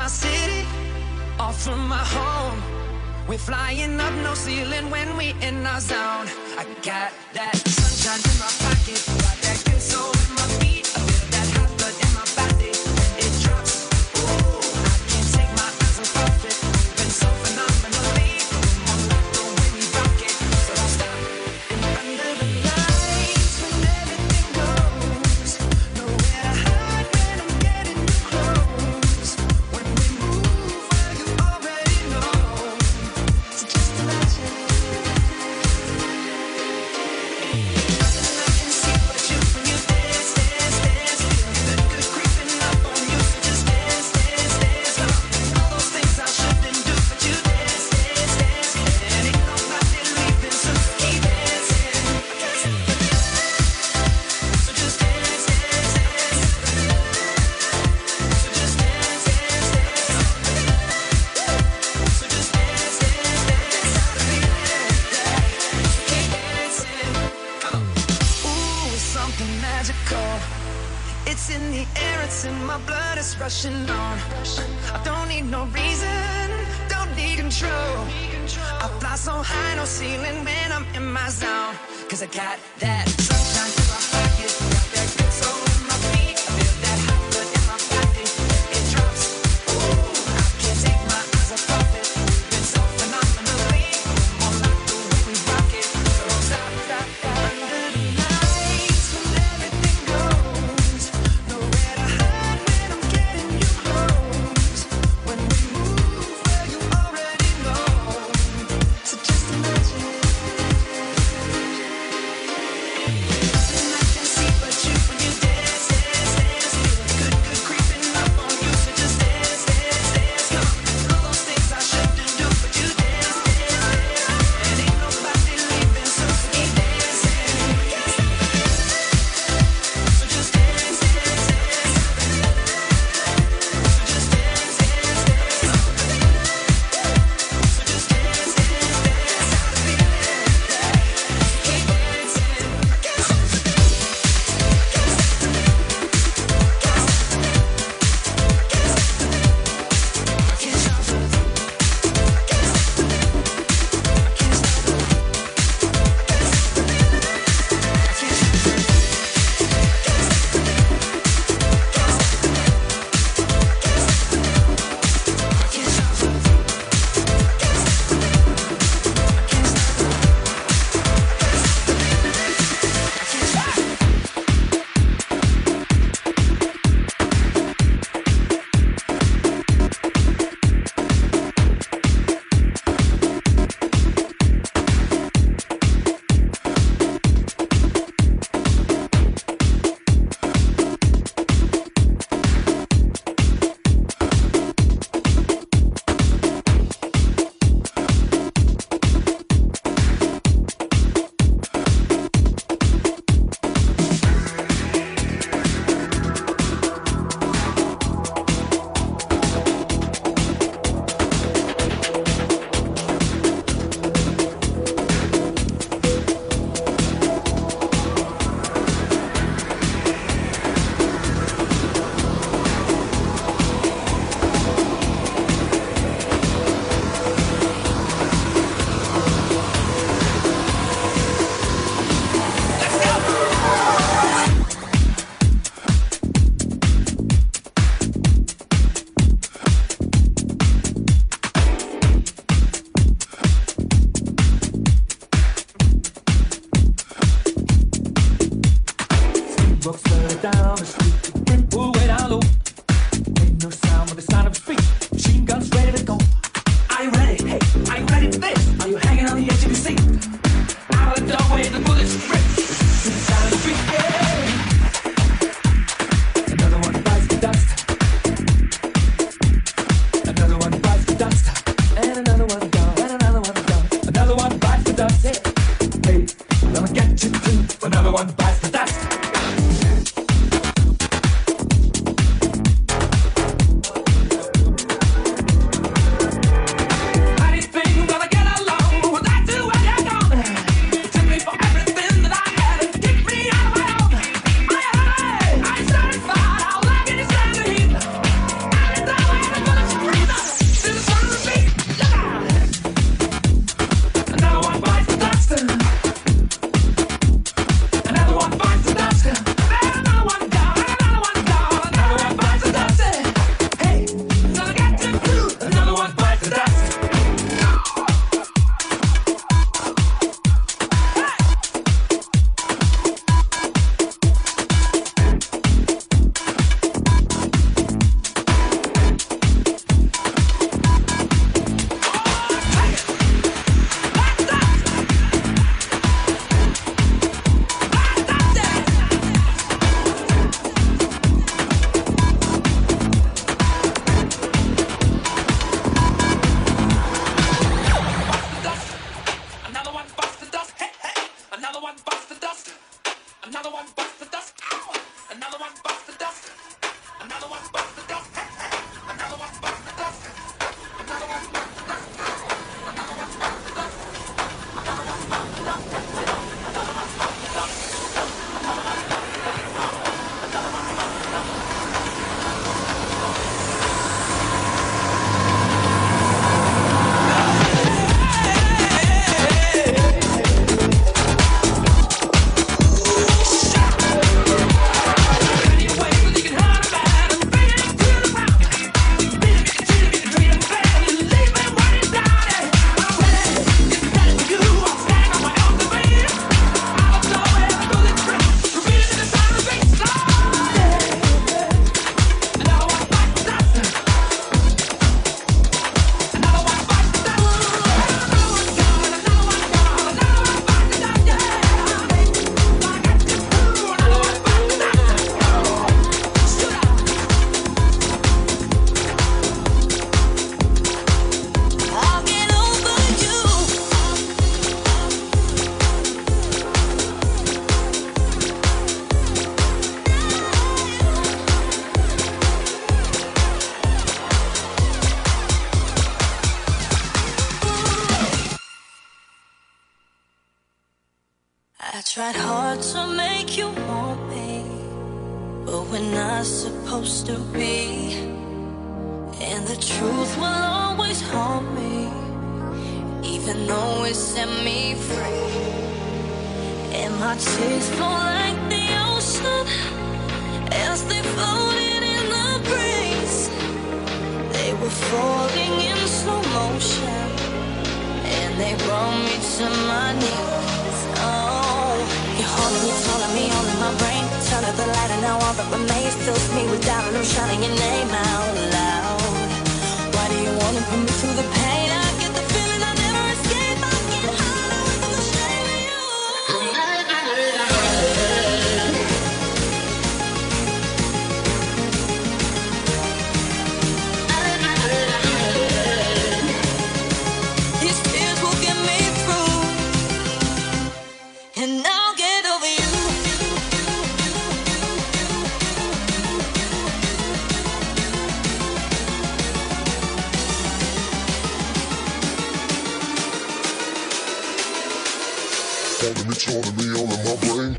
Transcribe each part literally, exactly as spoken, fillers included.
my city, off from my home. We're flying up, no ceiling when we in our zone. I got that sunshine in my pocket, got that good soul in my feet. I feel that hot blood in my body, it drops. Ooh, I can't take my eyes off it. Been so phenomenally, I'm like the way we rock it. So don't stop. And under the lights, when everything goes, nowhere to hide when I'm getting you close. When we move, well, you already know. So just imagine. Nothing I can see but you when you dance, dance, dance. Feel the good creeping up on you, so just dance, dance, dance. Now, all those things I shouldn't do, but you dance, dance, dance. And ain't nobody leaving, so keep dancing. I can't stop the dance, so just dance, dance, dance. So just dance, dance, dance. So just dance, dance, dance. Keep dancing. Come on. Ooh, it's something magical. It's in the air, it's in my blood, it's rushing on. I don't need no reason, don't need control. I fly so high, no ceiling when I'm in my zone. Cause I got that sunshine in my pocket, got that good soul in my feet. I feel that hot blood in my body, it drops. Ooh, I can't take my eyes off it. Been so phenomenally, I'm like the way we rock it. So don't stop, stop, stop. Under the lights, when everything goes, nowhere to hide when I'm getting you close. When we move, well, you already know. So just imagine. Tried hard to make you want me, but we're not supposed to be. And the truth will always haunt me, even though it set me free. And my tears flow like the ocean as they floated in the breeze. They were falling in slow motion, and they brought me to my knees. Oh, you're holding me, telling me all in my brain. Turn up the light and now all that remains fills me with doubt, and I'm shouting your name out loud. Why do you wanna put me through the pain? I get the feeling I never escape. I get high away from the shame of you. These tears will get me through, and I'll get over you. Holding me, telling me all in my brain.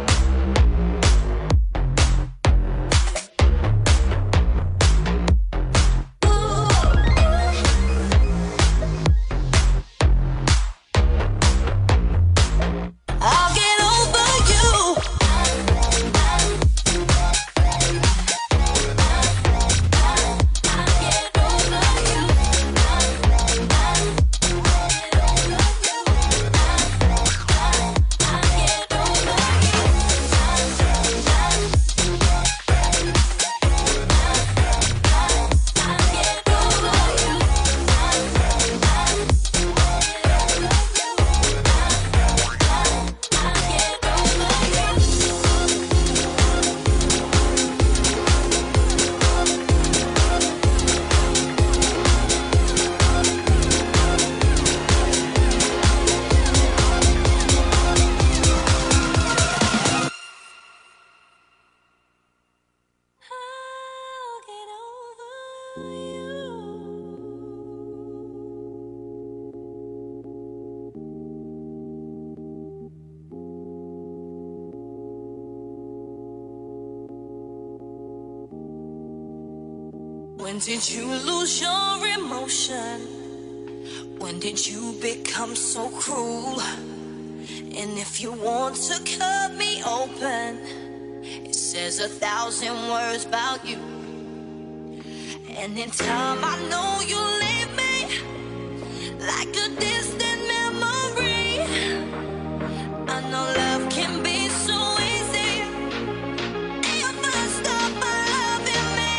I'll get over you. I'll get over you. When did you lose your emotion? When did you become so cruel? And if you want to cut me open, it says a thousand words about you. And in time I know you'll leave me like a distant memory. I know love can be so easy if I stop loving me.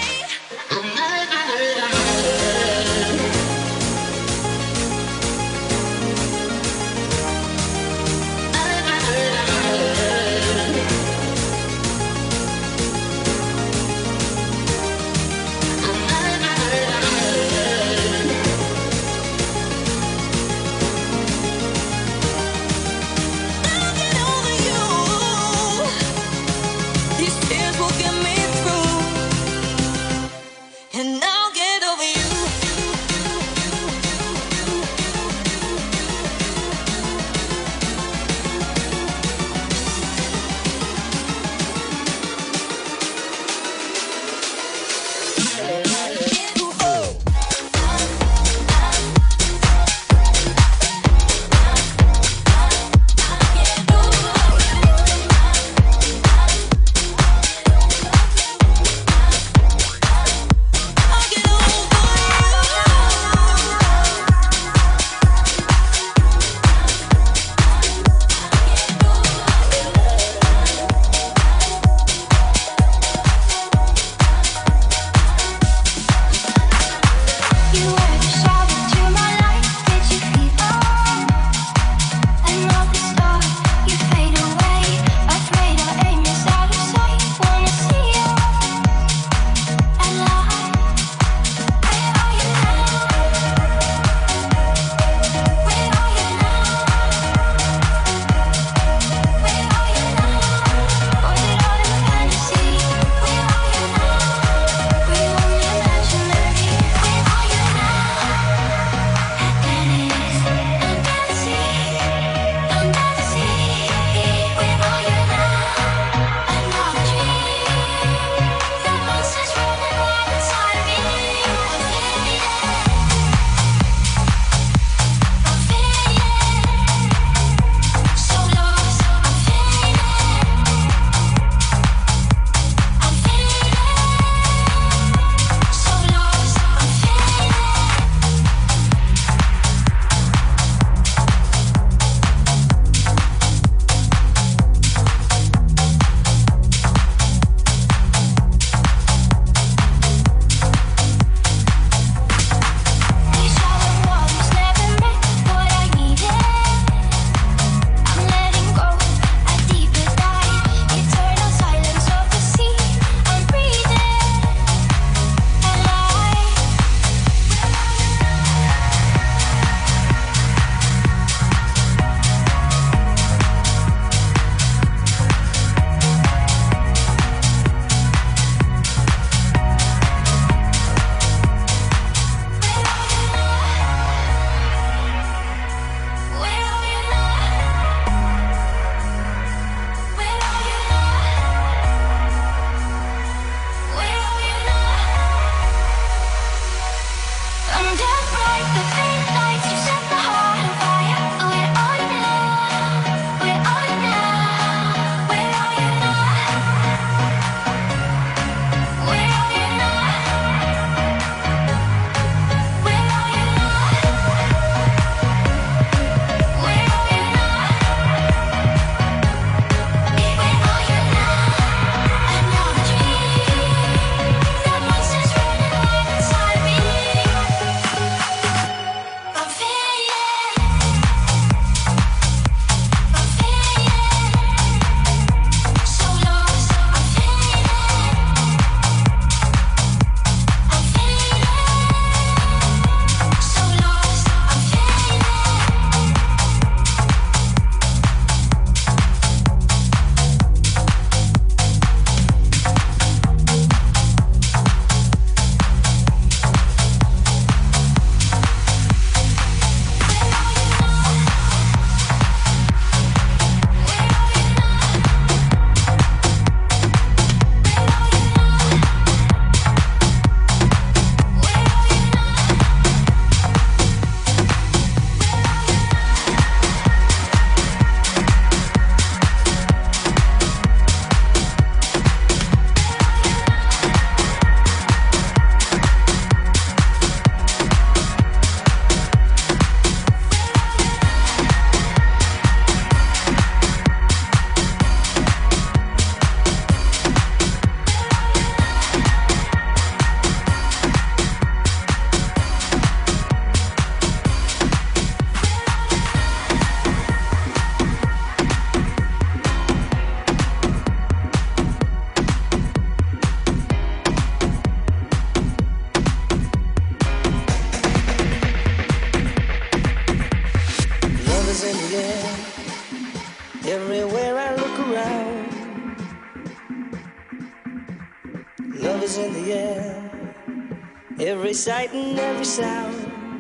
every sight and every sound.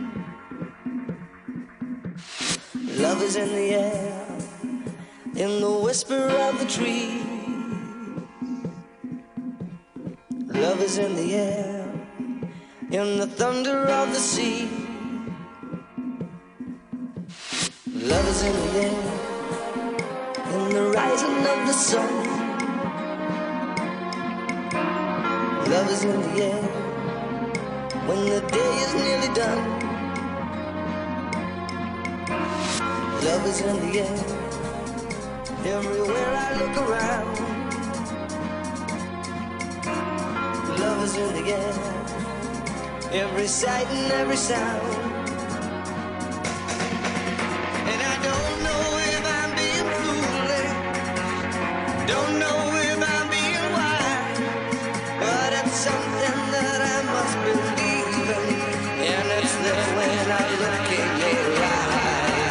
Love is in the air, in the whisper of the tree. Love is in the air, in the thunder of the sea. Love is in the air, in the rising of the sun. Love is in the air, when the day is nearly done. Love is in the air, everywhere I look around. Love is in the air, every sight and every sound. And I don't know if I'm being foolish, don't know if I'm being wise, but it's something that I must believe in, and it's there when I look in your eyes.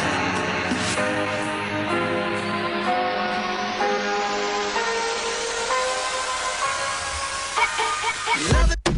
Love it.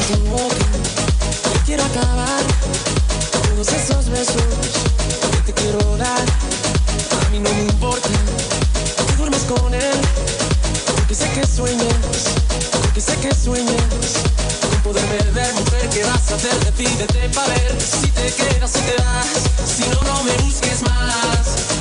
tu boca. Yo quiero acabar todos esos besos que te quiero dar. A mí no me importa que duermas con él, porque sé que sueñas, porque sé que sueñas con poderme ver. Mujer, ¿qué vas a hacer? Decídete pa' ver si te quedas o te vas. Si no, no me busques más.